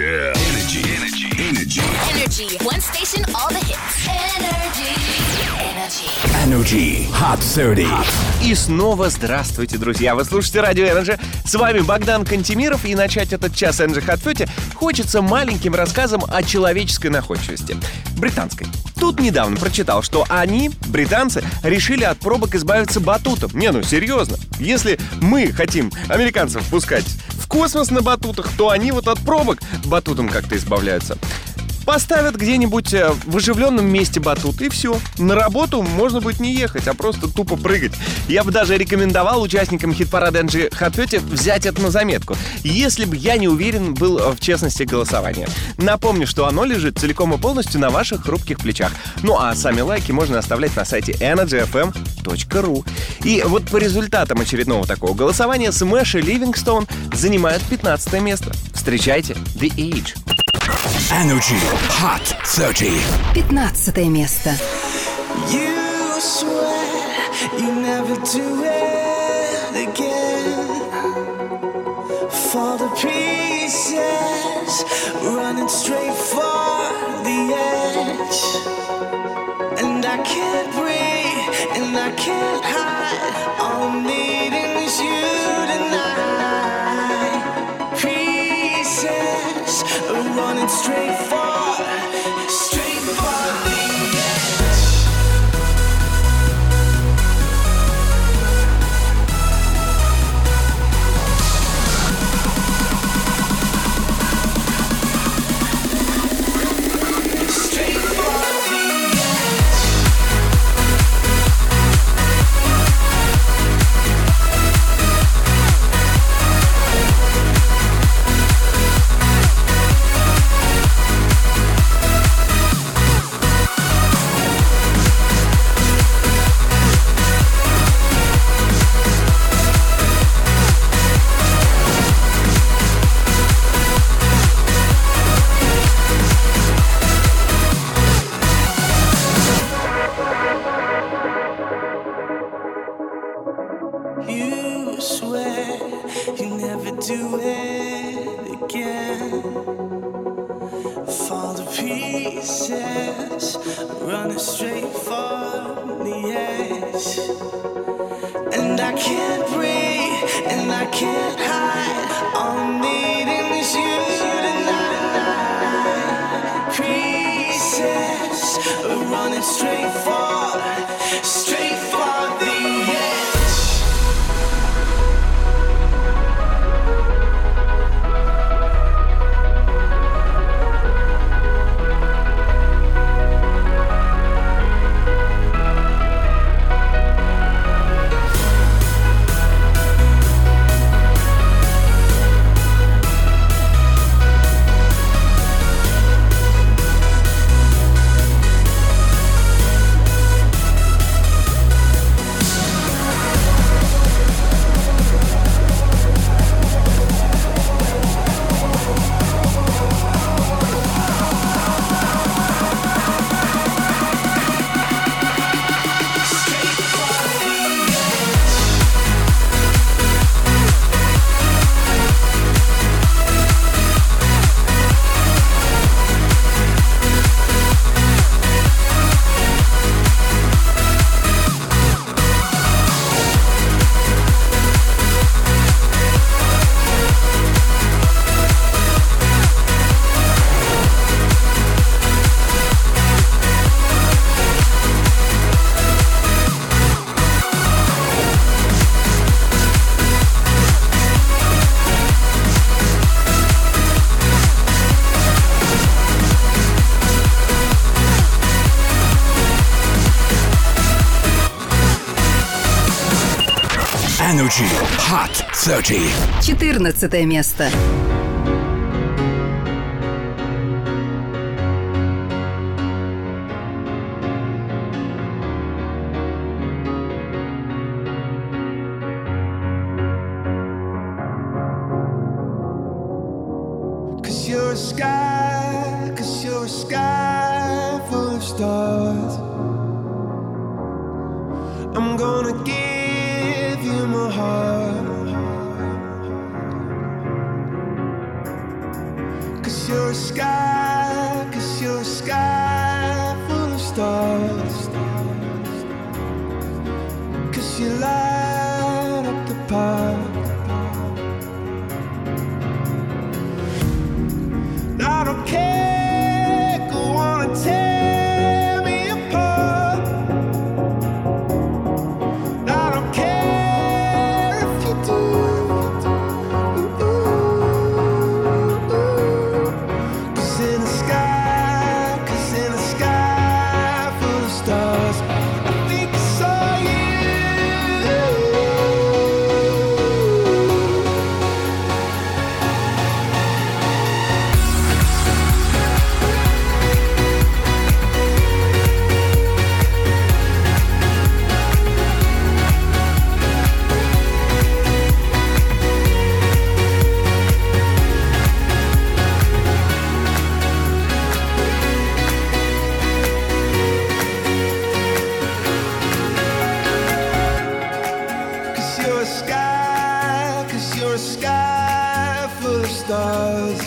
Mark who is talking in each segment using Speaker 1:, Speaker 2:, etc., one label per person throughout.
Speaker 1: Energy. One station, all the hits.
Speaker 2: Energy Hot 30.
Speaker 3: И снова здравствуйте, друзья! Вы слушаете Радио Energy. С вами Богдан Кантемиров. И начать этот час Energy Hot 30 хочется маленьким рассказом о человеческой находчивости. Британской. Тут недавно прочитал, что они, британцы, решили от пробок избавиться батутом. Не, ну серьезно. Если мы хотим американцев пускать в космос на батутах, то они вот от пробок батутом как-то избавляются. Поставят где-нибудь в оживленном месте батут, и все. На работу можно будет не ехать, а просто тупо прыгать. Я бы даже рекомендовал участникам хит-парада Energy Hot 30 взять это на заметку, если бы я не уверен был в честности голосования. Напомню, что оно лежит целиком и полностью на ваших хрупких плечах. Ну а сами лайки можно оставлять на сайте energyfm.ru. И вот по результатам очередного такого голосования Смэш и Ливингстоун занимают 15 место. Встречайте The Age.
Speaker 2: Energy Hot 30.
Speaker 4: 15 место.
Speaker 5: You swear you never do it again. For the pieces running straight for the edge. And I can't breathe and I can't hide. All I'm needing is you tonight. Pieces running straight for the edge. Straight for the edge. You swear you never do it again. Fall to pieces, running straight for the edge. And I can't breathe and I can't hide. All I'm needing is you tonight. Pieces, running straight for the edge.
Speaker 2: Energy Hot 30.
Speaker 4: 14 место.
Speaker 5: You're a sky, 'cause you're a sky full of stars. I'm gonna give you my heart. 'Cause you're a sky, 'cause you're a sky full of stars. 'Cause you light up the park. I don't care, go on and tear me apart. I don't care if you do. Cause in the sky full of stars, I think I saw you. Cause you're a sky full of stars.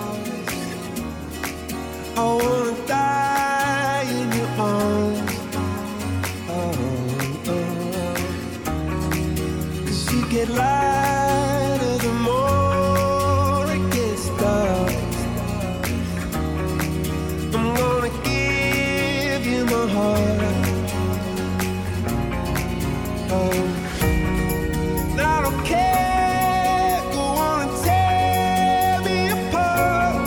Speaker 5: I wanna die in your arms. Cause you get lighter the more it gets dark. I'm gonna give you my heart. I don't care, go on and tear me apart.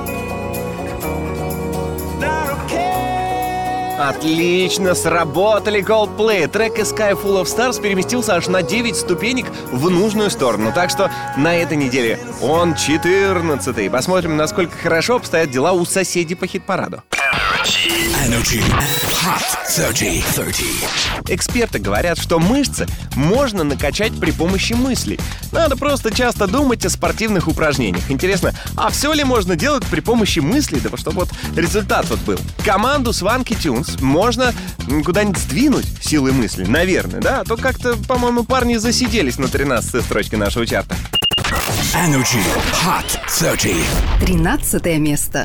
Speaker 5: I don't care.
Speaker 3: Отлично сработали Coldplay. Трек A Sky Full of Stars переместился аж на 9 ступенек в нужную сторону. Так что на этой неделе он 14-й. Посмотрим, насколько хорошо обстоят дела у соседей по хит-параду.
Speaker 2: Energy Hot 30.
Speaker 3: Эксперты говорят, что мышцы можно накачать при помощи мыслей. Надо просто часто думать о спортивных упражнениях. Интересно, а все ли можно делать при помощи мыслей, да чтобы вот результат вот был? Команду Swanky Tunes можно куда-нибудь сдвинуть силой мысли, наверное, да? А то как-то, по-моему, парни засиделись на 13-й строчке нашего чарта.
Speaker 2: Energy Hot 30.
Speaker 4: 13 место.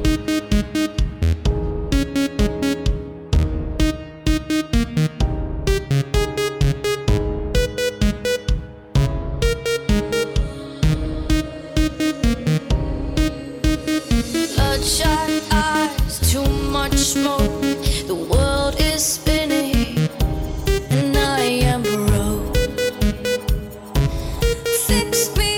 Speaker 6: Bloodshot eyes, too much smoke. The world is spinning, and I am broke. Fix me.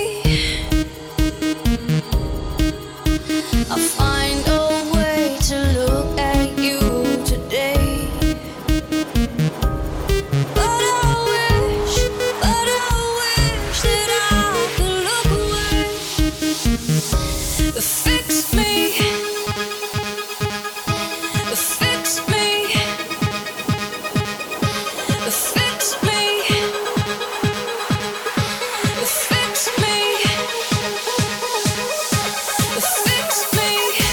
Speaker 6: I'll find a way to look at you today. But I wish that I could look away. Fix me. Fix me. Fix me. Fix me. Fix me.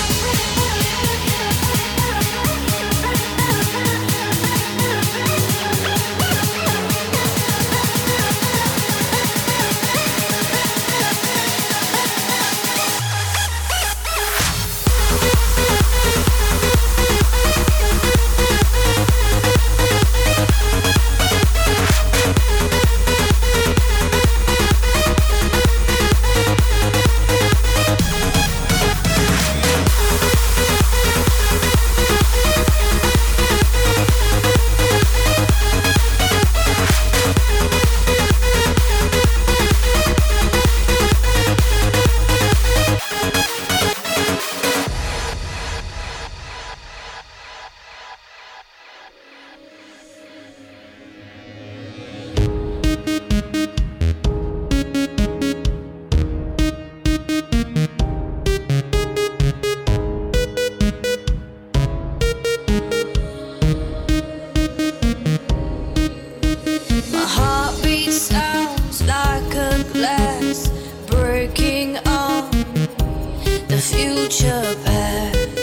Speaker 6: My heartbeat sounds like a glass breaking on the future past.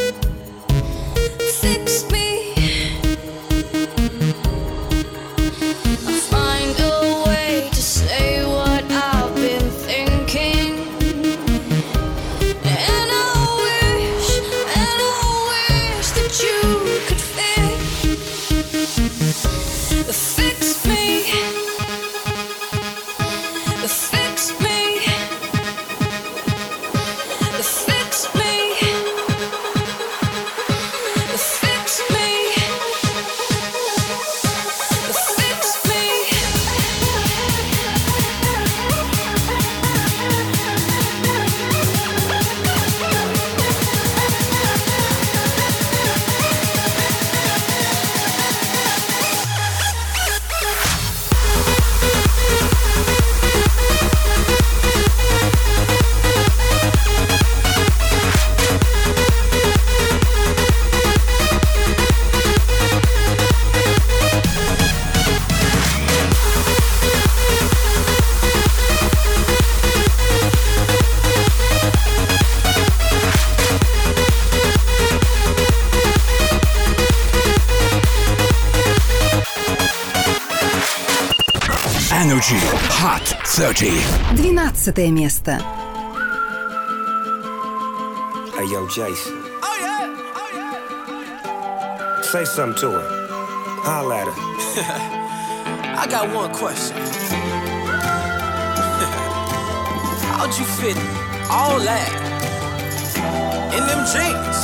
Speaker 6: Fix me. I'll find a way to say what I've been thinking, and
Speaker 2: Energy Hot 30.
Speaker 4: 12 место.
Speaker 7: Hey, yo, Jason. Oh, yeah. Say something to her. Holla at her.
Speaker 8: I got one question. How'd you fit all that in them jeans?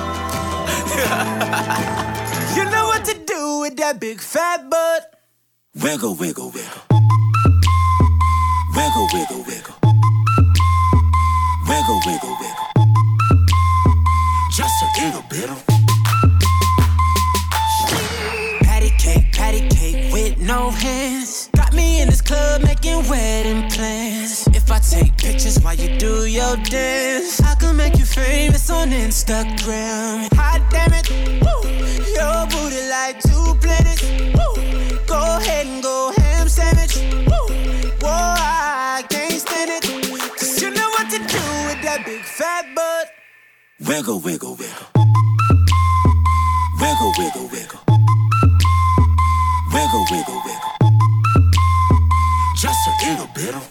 Speaker 8: You know what to do with that big fat butt.
Speaker 7: Wiggle, wiggle, wiggle. Wiggle, wiggle, wiggle. Wiggle, wiggle, wiggle. Just a little bit of patty cake with no hands. Got me in this club making wedding plans. If I take pictures while you do your dance, I can make you famous on Instagram. Hot damn it, woo. Your booty like 2 planets. Woo. Go ahead and go ham sandwich. Woo. Whoa, I can't stand it. 'Cause you know what to do with that big fat butt. Wiggle, wiggle, wiggle. Wiggle, wiggle, wiggle. Wiggle, wiggle, wiggle. Just a little bit of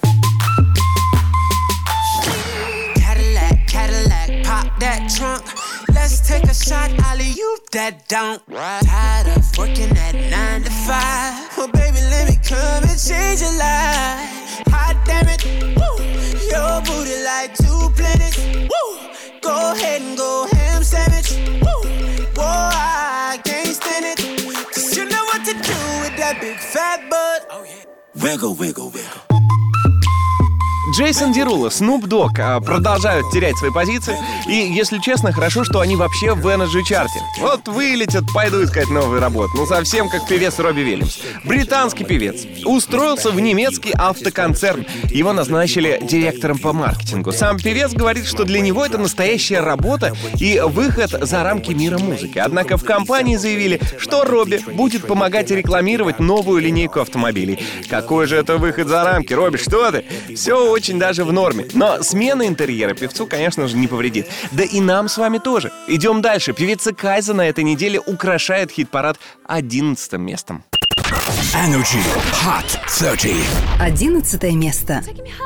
Speaker 7: Cadillac, pop that trunk. Let's take a shot, alley-oop that don't. Tired of working at 9 to 5. Oh, baby, let me come and change your life. Hot damn it, woo. Your booty like 2 planets. Woo. Go ahead and go ham sandwich. Woo. Whoa, I can't stand it. 'Cause you know what to do with that big fat butt. Oh, yeah. Wiggle, wiggle, wiggle.
Speaker 3: Джейсон Деруло, Snoop Dogg продолжают терять свои позиции. И, если честно, хорошо, что они вообще в Energy чарте. Вот вылетят, пойду искать новую работу. Ну, совсем как певец Робби Уильямс. Британский певец. Устроился в немецкий автоконцерн. Его назначили директором по маркетингу. Сам певец говорит, что для него это настоящая работа и выход за рамки мира музыки. Однако в компании заявили, что Робби будет помогать рекламировать новую линейку автомобилей. Какой же это выход за рамки, Робби, что ты? Все очень даже в норме. Но смена интерьера певцу, конечно же, не повредит. Да и нам с вами тоже. Идем дальше. Певица Кайза на этой неделе украшает хит-парад 11 местом.
Speaker 2: Energy Hot 30.
Speaker 4: 11 место.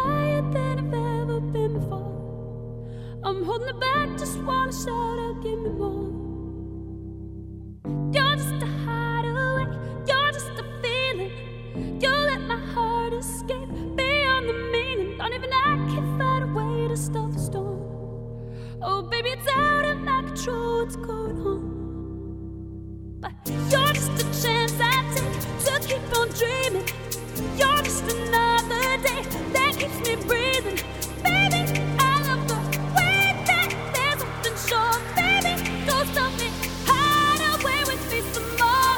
Speaker 6: Don't even I can find a way to stop the storm. Oh, baby, it's out of my control what's going on. But you're just a chance I take to keep on dreaming. You're just another day that keeps me breathing. Baby, I love the way that there's something sure. Baby, don't stop me, hide away with me some more.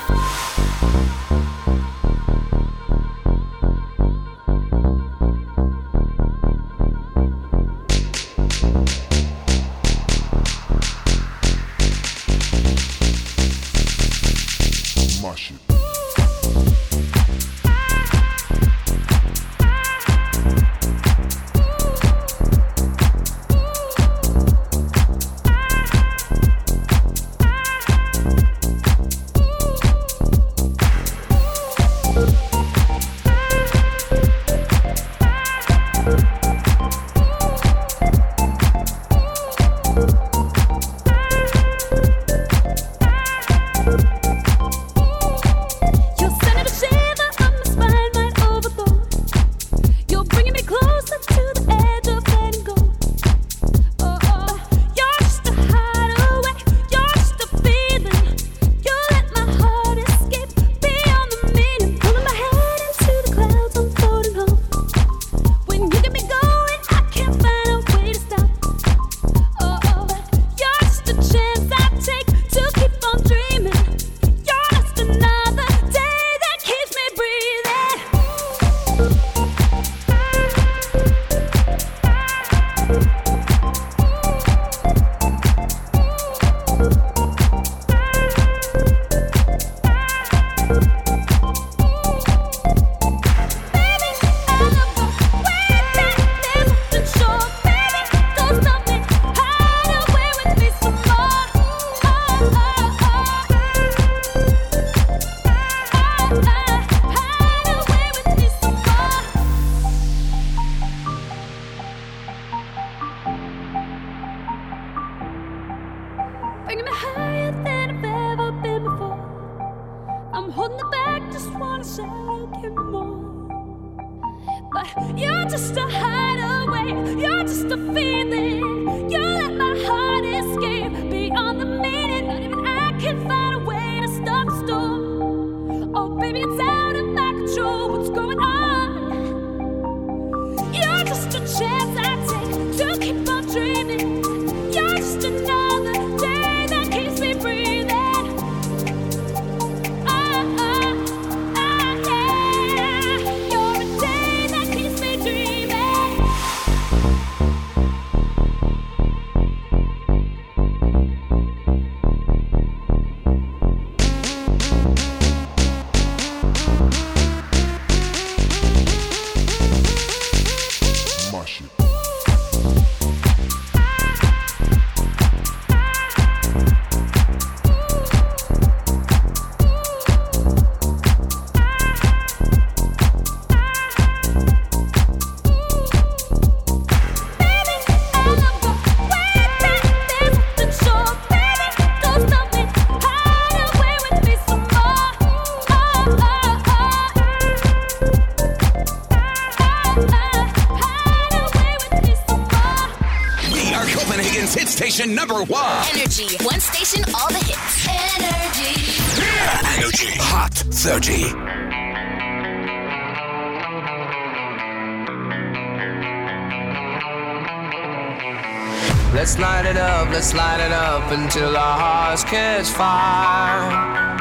Speaker 6: You're just a hideaway, you're just a feeling. You let my heart escape beyond the meaning. Not even I can find a way to stop the storm. Oh baby, it's out of my control, what's going on? You're just a chance I take to keep on dreaming. You're just another day that keeps me breathing.
Speaker 2: Station number one.
Speaker 1: Energy. One station, all the hits. Energy.
Speaker 2: Energy Hot 30.
Speaker 9: Let's light it up until our hearts catch fire.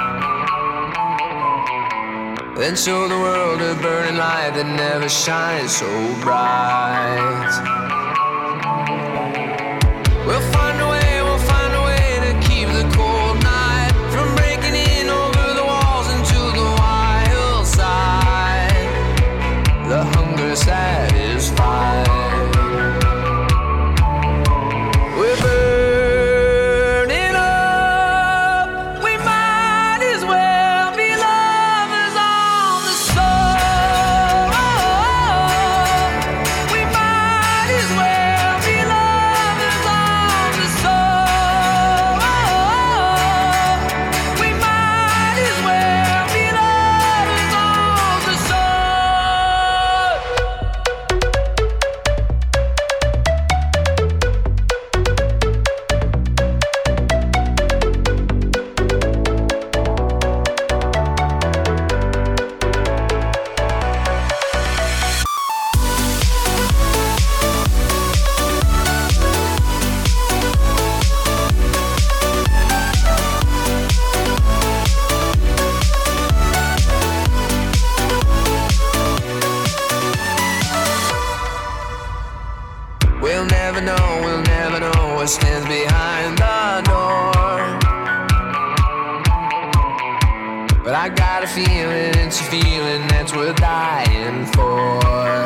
Speaker 9: Then show the world a burning light that never shines so bright. We'll find a way to keep the cold night from breaking in over the walls into the wild side. The hunger satisfied. We're burning up. We might as well be lovers on the soul. We might as well be lovers on the soul. We might as well be lovers on the soul. We'll never know what stands behind the door. But I got a feeling, it's a feeling that's worth dying for.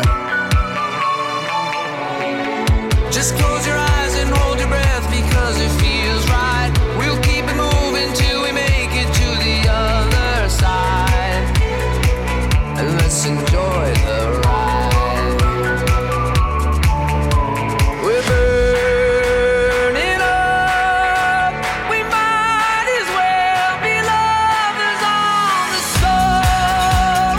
Speaker 9: Just close your eyes and hold your breath because it feels right. We'll keep it moving till we make it to the other side. And let's enjoy the ride. We're burning up. We might as well be lovers on the soul.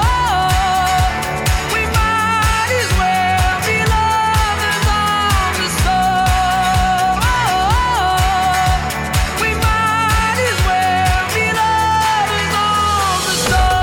Speaker 9: We might as well be lovers on the soul. We might as well be lovers on the soul.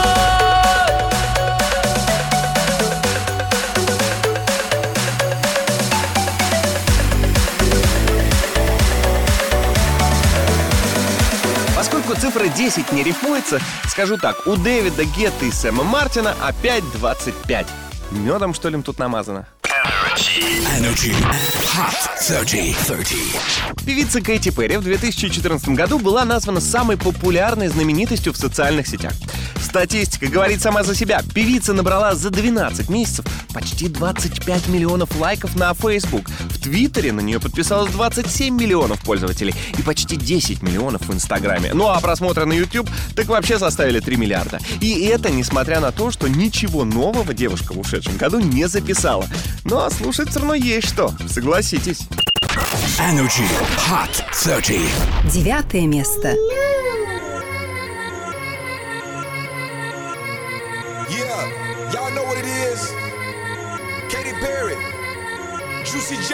Speaker 3: Поскольку цифра 10 не рифмуется, скажу так, у Дэвида Гетты и Сэма Мартина опять 25. Медом, что ли, им тут намазано?
Speaker 2: Energy Hot 30.
Speaker 3: Певица Кэти Перри в 2014 году была названа самой популярной знаменитостью в социальных сетях. Статистика говорит сама за себя. Певица набрала за 12 месяцев почти 25 миллионов лайков на Facebook. В Твиттере на нее подписалось 27 миллионов пользователей и почти 10 миллионов в Инстаграме. Ну а просмотры на YouTube так вообще составили 3 миллиарда. И это несмотря на то, что ничего нового девушка в ушедшем году не записала. Но слушать все равно есть что, согласитесь.
Speaker 2: Energy Hot 30.
Speaker 4: 9 место.
Speaker 10: Yeah, y'all know what it is. Juicy J.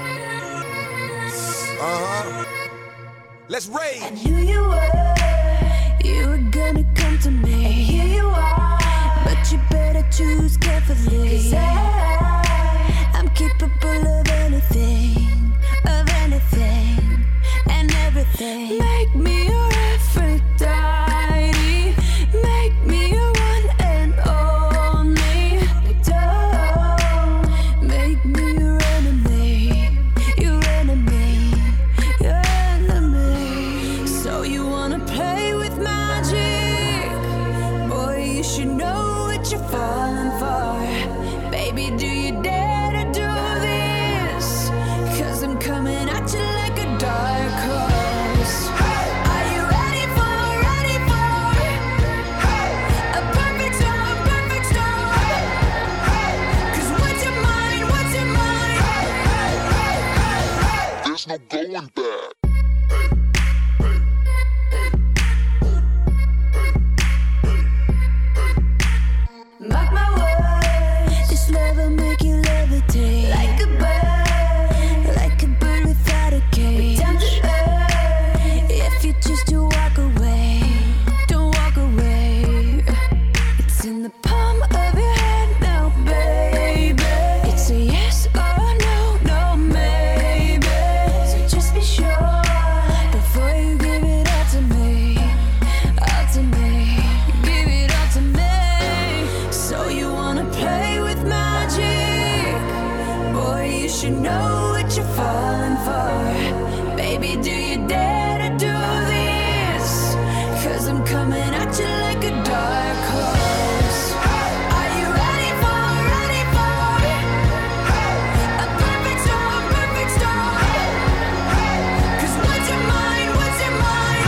Speaker 10: Let's rage.
Speaker 6: I knew you were gonna come to me. And here you are, but you better choose carefully. 'Cause I'm capable of anything, and everything. Make me your Aphrodite, make me your one and only. Don't make me your enemy, your enemy, your enemy. So you wanna play with magic? Boy, you should know what you're falling for. Baby, do you dare to do this? 'Cause I'm coming at you like a dark horse. Are you ready for a perfect storm, perfect storm? 'Cause what's your mind, what's your mind?
Speaker 11: There's no going back.
Speaker 6: Mark my words, this love will make you levitate like a bird without a cage. Down to earth, if you choose to walk away, don't walk away. It's in the palm of your hand now, baby. It's a yes or no, no maybe. So just be sure before you give it all to me, all to me. Give it all to me. So you wanna play with magic? Boy, you should know what you're falling for. Baby, do you dare to do this? 'Cause I'm coming at you like a dark horse. Are you ready for a perfect storm, perfect storm? 'Cause what's your mind, what's your mind?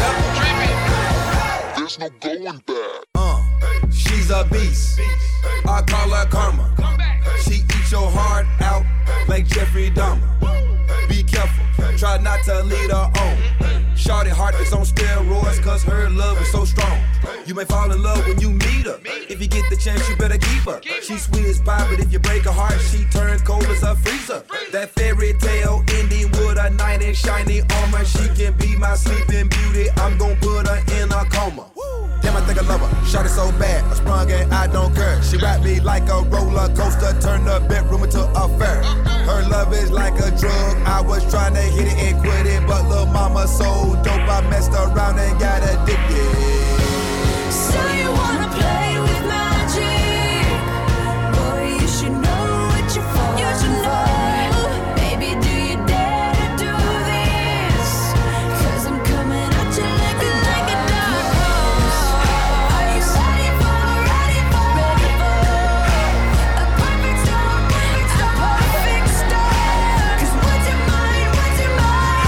Speaker 11: There's no going back.
Speaker 10: She's a beast. I call her karma. She eats your heart out like Jeffrey Dahmer. Be careful, try not to lead her on. Shorty heart is on steroids 'cause her love is so strong. You may fall in love when you meet her. If you get the chance, you better keep her. She's sweet as pie, but if you break her heart, she turns cold as a freezer. That fairy tale ending with a knight in shiny armor. She can be my sleeping beauty. I'm gon' put her in a coma. Damn, I think I love her. Shot it so bad, I sprung and I don't care. She wrapped me like a roller coaster, turned the bedroom into a fair. Her love is like a drug. I was trying to hit it and quit it, but lil' mama so dope, I messed around and got addicted.
Speaker 6: So you wanna play with magic? Boy, you should know what you're falling for. Baby, do you dare to do this? 'Cause I'm coming at you like a dark horse. Are you ready for a perfect storm, a perfect storm? 'Cause what's your mind, what's your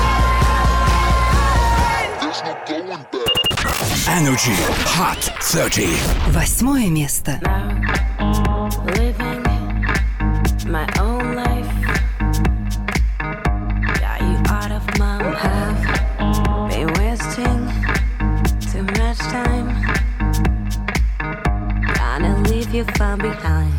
Speaker 6: mind?
Speaker 11: There's no going back.
Speaker 2: Energy Hot 30.
Speaker 4: 8 место.
Speaker 6: Living my own life. Got you out of my have been wasting too much time. Gonna leave you far behind.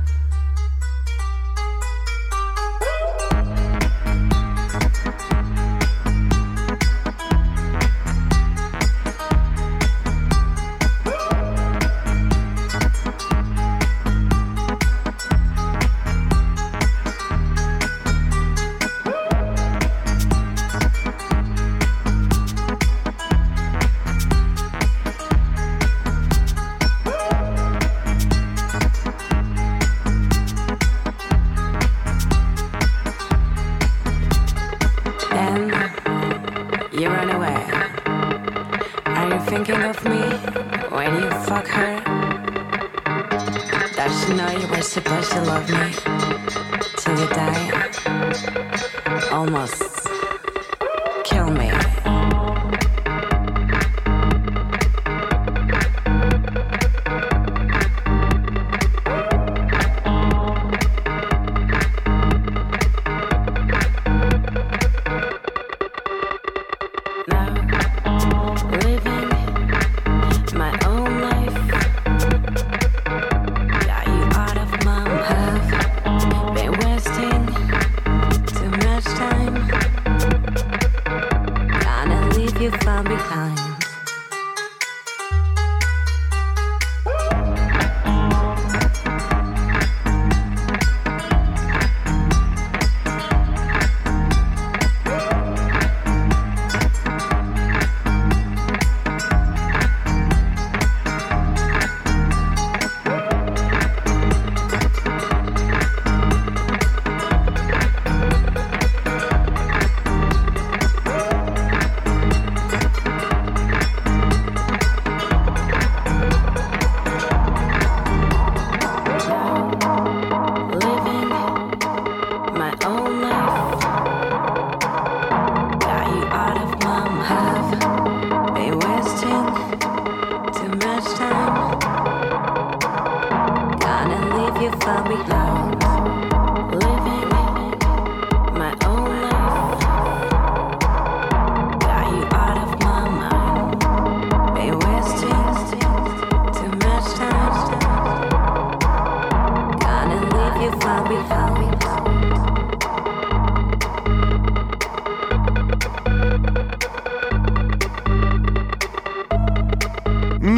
Speaker 6: You run away. Are you thinking of me when you fuck her? Does she know you were supposed to love me till you die? Almost kill me.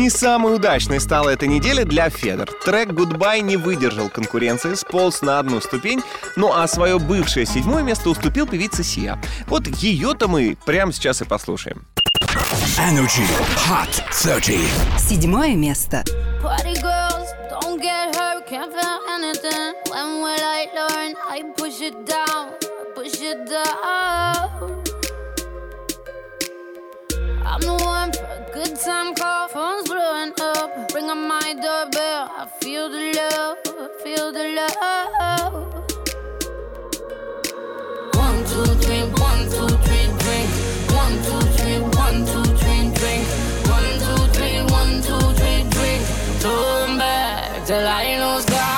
Speaker 3: Не самой удачной стала эта неделя для Федор. Трек «Goodbye» не выдержал конкуренции, сполз на одну ступень, ну а свое бывшее 7-е место уступил певице Сиа. Вот ее-то мы прямо сейчас и послушаем.
Speaker 2: Energy Hot 30.
Speaker 4: 7 место.
Speaker 6: Party girls, don't get hurt, can't feel anything. When will I learn? I push it down, push it down. I'm the one for a good time call, phone's blowing up. Ring on my doorbell, I feel the love, I feel the love. 1, 2, 3, 1, 2, 3, drink. 1, 2, 3, 1, 2, 3, drink. 1, 2, 3, 1, 2, 3, drink. Turn back till I lose God.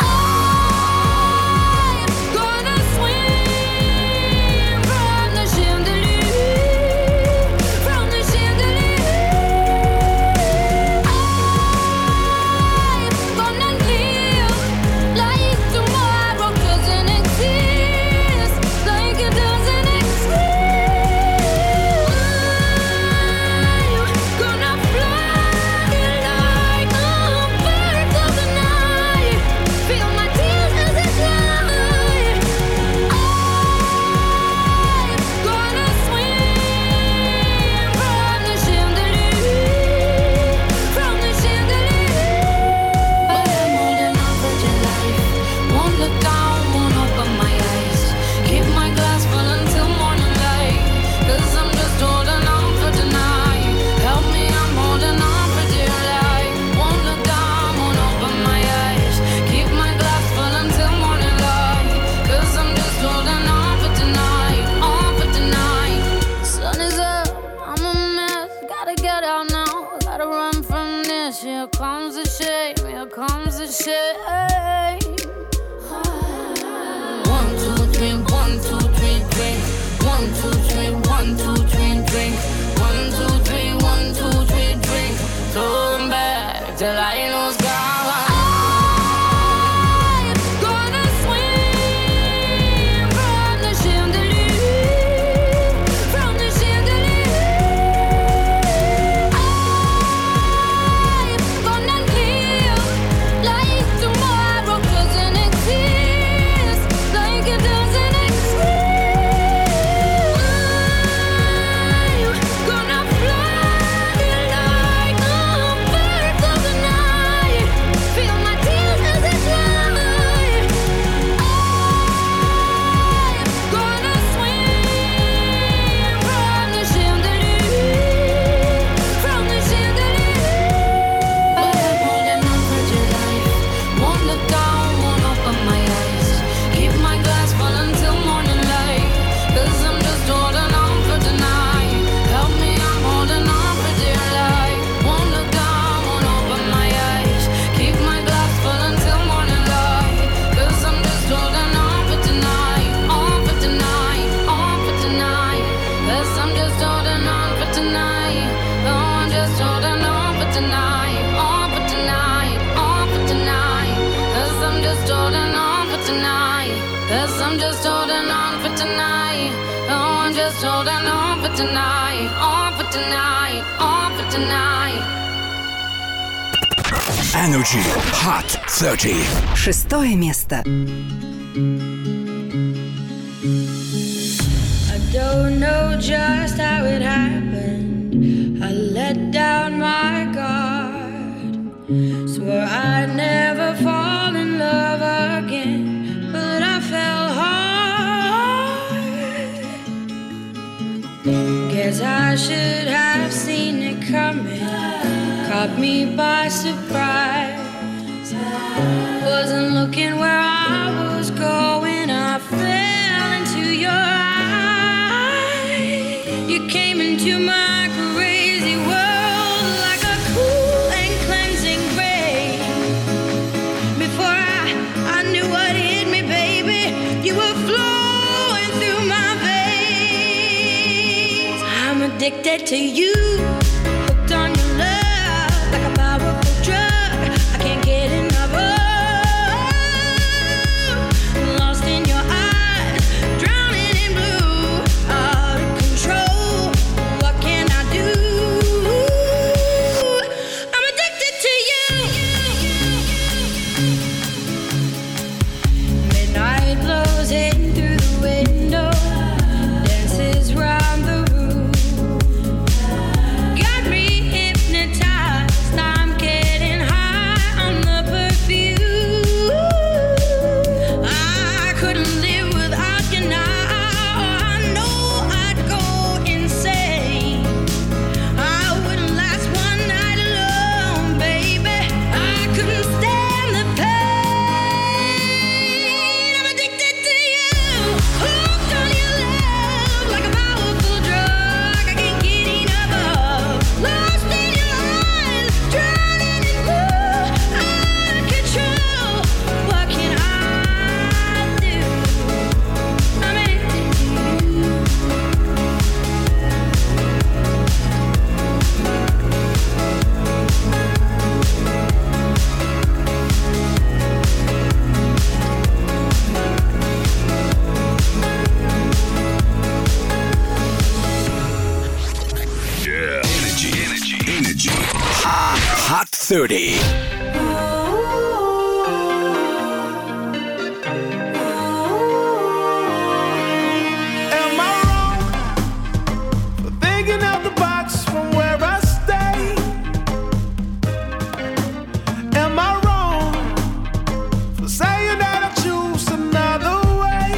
Speaker 2: Energy Hot 30.
Speaker 4: 6 место.
Speaker 12: I don't know just how it happened. I let down my guard. Swore I'd never fall in love again, but I fell hard. Guess I should have seen it coming. Caught me by surprise. Wasn't looking where I was going. I fell into your eyes. You came into my crazy world like a cool and cleansing rain. Before I knew what hit me, baby, you were flowing through my veins. I'm addicted to you, hooked on your love. Like a powerful drug, I can't get enough of. Lost in your eyes, drowning in blue, out of control. What can I do? I'm
Speaker 2: 30.
Speaker 8: Am I wrong for thinking out the box from where I stay? Am I wrong for saying that I choose another way?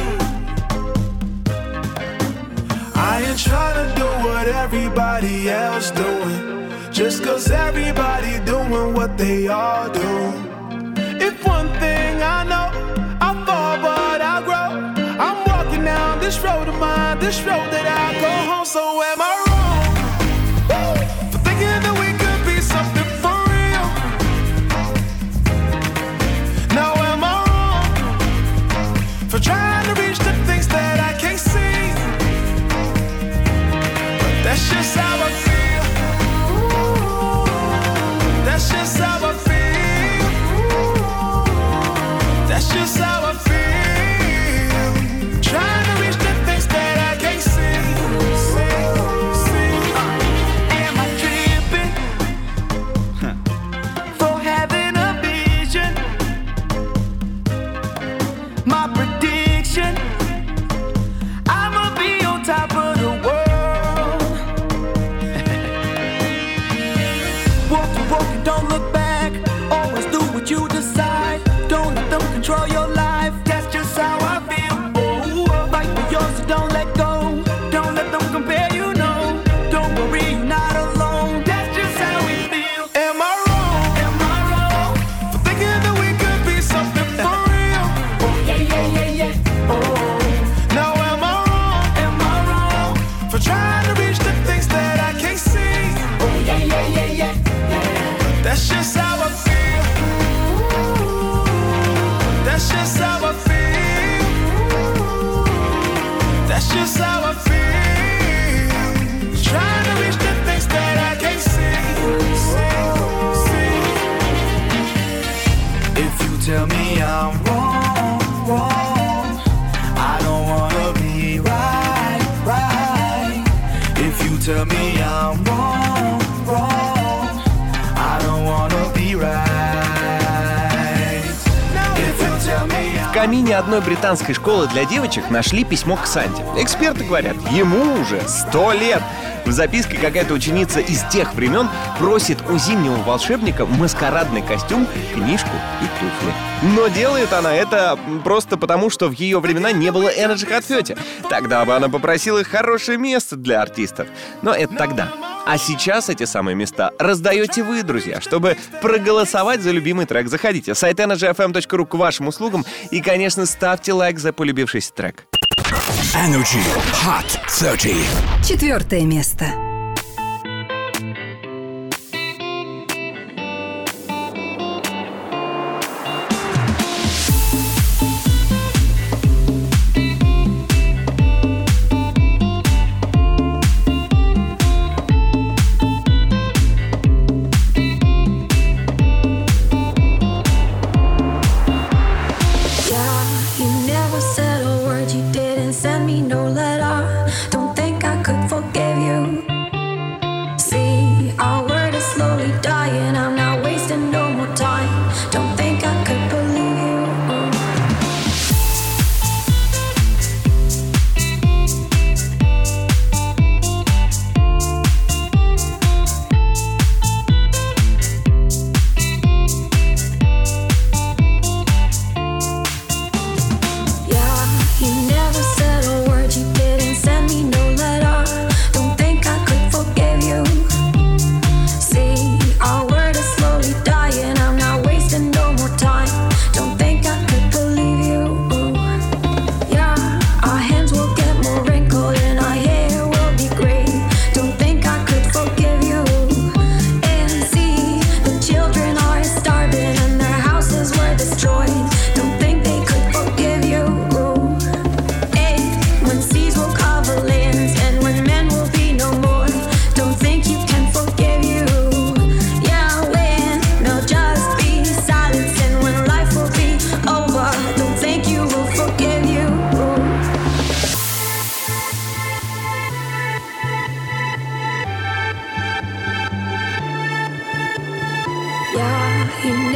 Speaker 8: I ain't trying to do what everybody else doing, just 'cause everybody doing what they all do. If one thing I know, I fall but I grow. I'm walking down this road of mine, this road that I go home. So am I wrong for thinking that we could be something for real? Now am I wrong for trying to reach the things that I can't see? But that's just how I feel. That's just how I feel. That's just how I feel. Trying to reach the things that I can't see. Am I tripping for having a vision? My prediction, I'ma be on top of the world. Walking, walking, don't look back. Always do what you decide. Don't let them control your life. That's just how I feel. Oh, fight for yours, so don't let go. Don't let them compare, you know. Don't worry, you're not alone. That's just how we feel. Am I wrong? Am I wrong for thinking that we could be something for real? Oh, yeah, yeah, yeah, yeah. Oh, now am I wrong? Am I wrong for trying to reach the things that I can't see? Oh, yeah, yeah, yeah, yeah. That's just how I feel. That's just how I feel. That's just how I feel. Trying to reach the things that I can't see. If you tell me I'm wrong, wrong, I don't wanna be right, right. If you tell me I'm wrong, wrong, I don't wanna be right. If you tell me
Speaker 3: В камине одной британской школы для девочек нашли письмо к Санте. Эксперты говорят, ему уже 100 лет. В записке какая-то ученица из тех времен просит у зимнего волшебника маскарадный костюм, книжку и туфли. Но делает она это просто потому, что в ее времена не было Energy Hot 30. Тогда бы она попросила хорошее место для артистов. Но это тогда. А сейчас эти самые места раздаете вы, друзья. Чтобы проголосовать за любимый трек, заходите в сайт energyfm.ru к вашим услугам и, конечно, ставьте лайк за полюбившийся трек.
Speaker 2: Energy Hot 30.
Speaker 4: 4 место.
Speaker 6: Send me no letter. Don't think I could forgive you.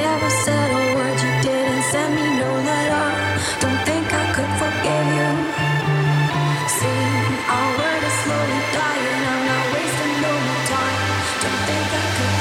Speaker 12: never said a word, you didn't send me no letter. Don't think I could forgive you. See, our word is slowly dying, I'm not wasting no more time. Don't think I could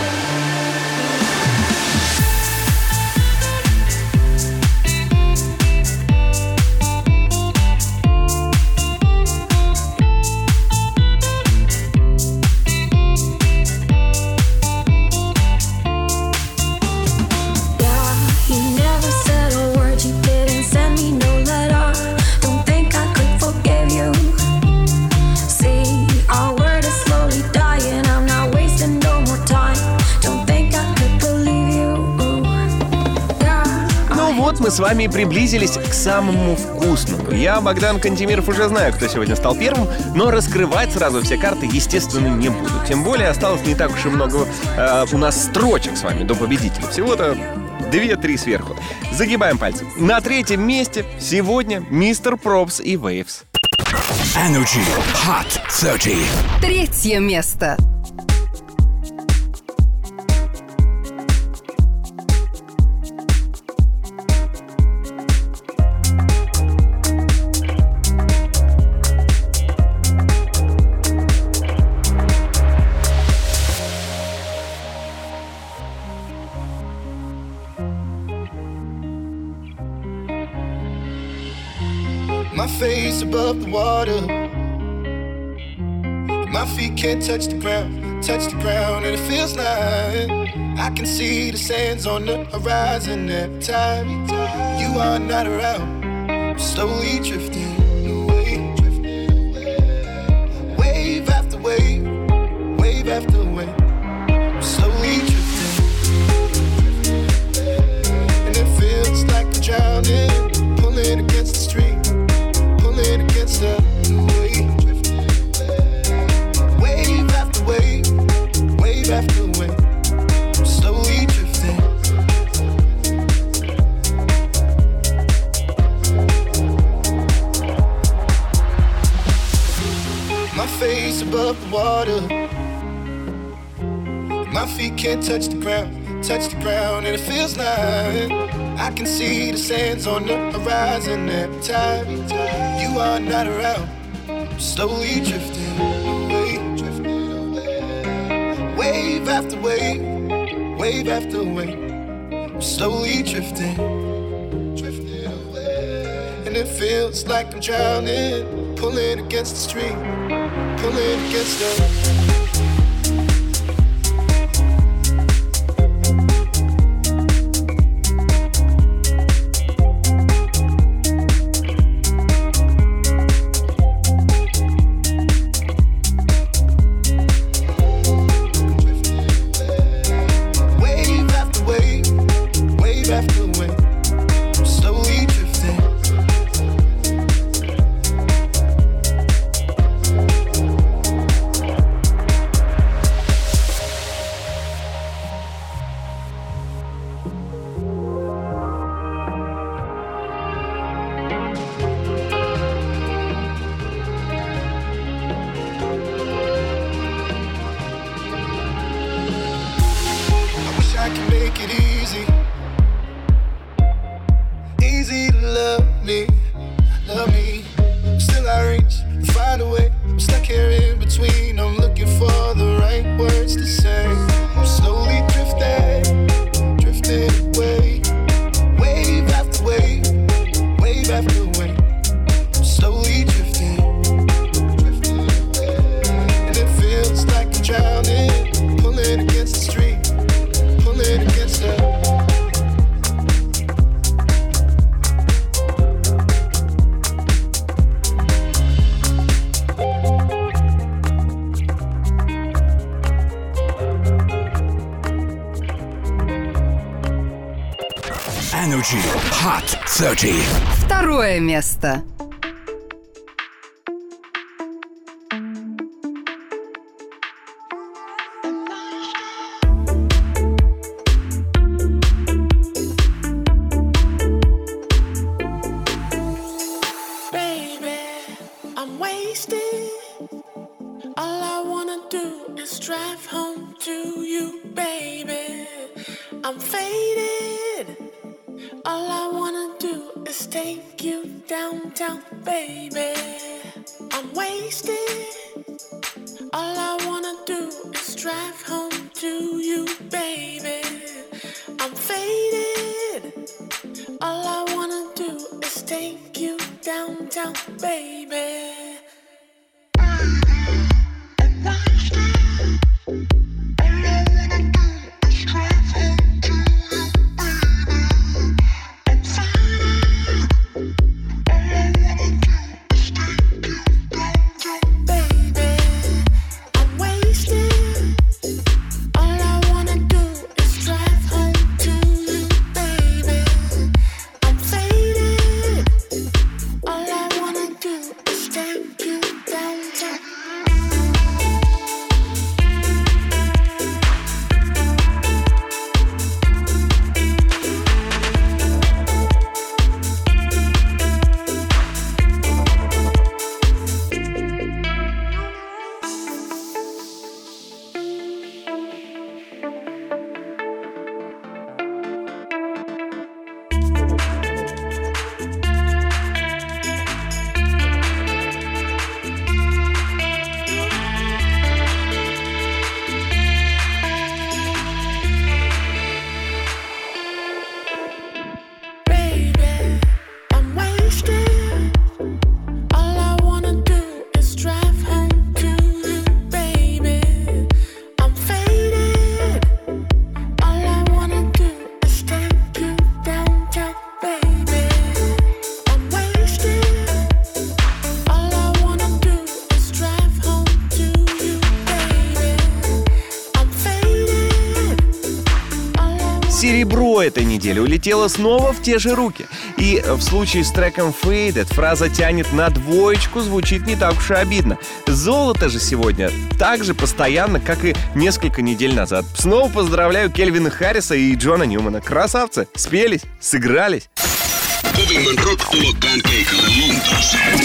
Speaker 3: мы с вами приблизились к самому вкусному. Я, Богдан Кантемиров, уже знаю, кто сегодня стал первым, но раскрывать сразу все карты, естественно, не буду. Тем более осталось не так уж и много у нас строчек с вами до победителя. Всего-то 2-3 сверху. Загибаем пальцы. На третьем месте сегодня Мистер Пропс и Waves.
Speaker 2: Energy Hot 30.
Speaker 4: Третье место.
Speaker 13: My face above the water, my feet can't touch the ground, and it feels like I can see the sands on the horizon every time you are not around. I'm slowly drifting away, wave after wave, wave after wave. I'm slowly drifting, and it feels like I'm drowning, pulling against the stream. Against the wave, wave after wave, wave after wave, I'm slowly drifting. My face above the water, my feet can't touch the ground, and it feels like I can see the sands on the horizon every time you are not around. I'm slowly drifting away, wave after wave, wave after wave. I'm slowly drifting away, and it feels like I'm drowning, pulling against the stream, pulling against the.
Speaker 2: Energy Hot 30.
Speaker 4: Второе место.
Speaker 5: I'm faded. All I wanna do is take you downtown, baby. I'm wasted. All I wanna do is drive home to you, baby. I'm faded. All I wanna do is take you downtown, baby.
Speaker 3: Серебро этой недели улетело снова в те же руки. И в случае с треком Faded фраза тянет на двоечку, звучит не так уж и обидно. Золото же сегодня так же постоянно, как и несколько недель назад. Снова поздравляю Кельвина Харриса и Джона Ньюмана. Красавцы, спелись, сыгрались.
Speaker 2: Kovimman rock-tulokkaan keikalle Lontooseen.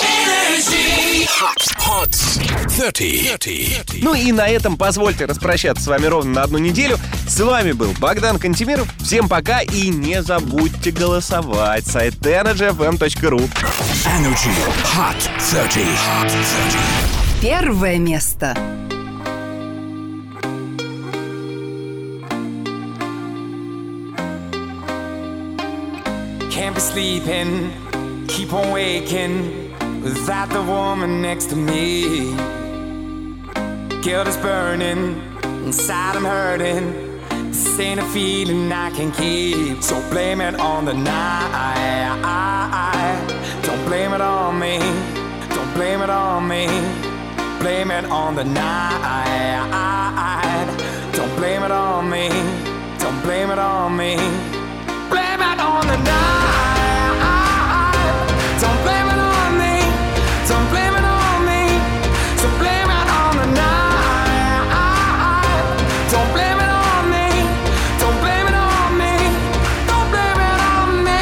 Speaker 2: Hot 30.
Speaker 3: Ну и на этом позвольте распрощаться с вами ровно на одну неделю. С вами был Богдан Кантемиров. Всем пока и не забудьте голосовать. Сайт energyfm.ru.
Speaker 2: Energy Hot 30.
Speaker 4: Первое место.
Speaker 14: Can't be sleeping, keep on waking without the woman next to me. Guilt is burning, inside I'm hurting. This ain't a feeling I can keep. So blame it on the night. Don't blame it on me. Don't blame it on me. Blame it on the night. Don't blame it on me. Don't blame it on me. Blame it on the night. Don't blame it on me. Don't blame it on me. So blame it on the night. Don't blame it on me. Don't blame it on me. Don't blame it on me.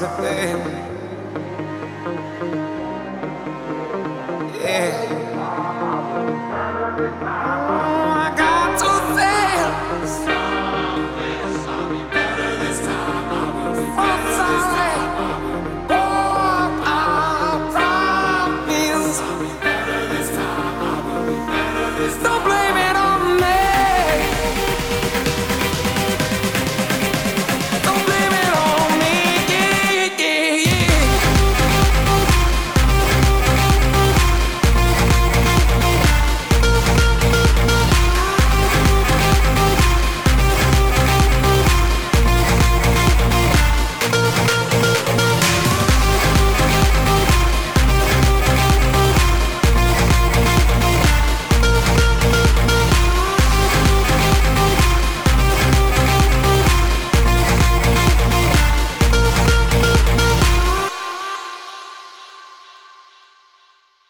Speaker 14: harder, baby.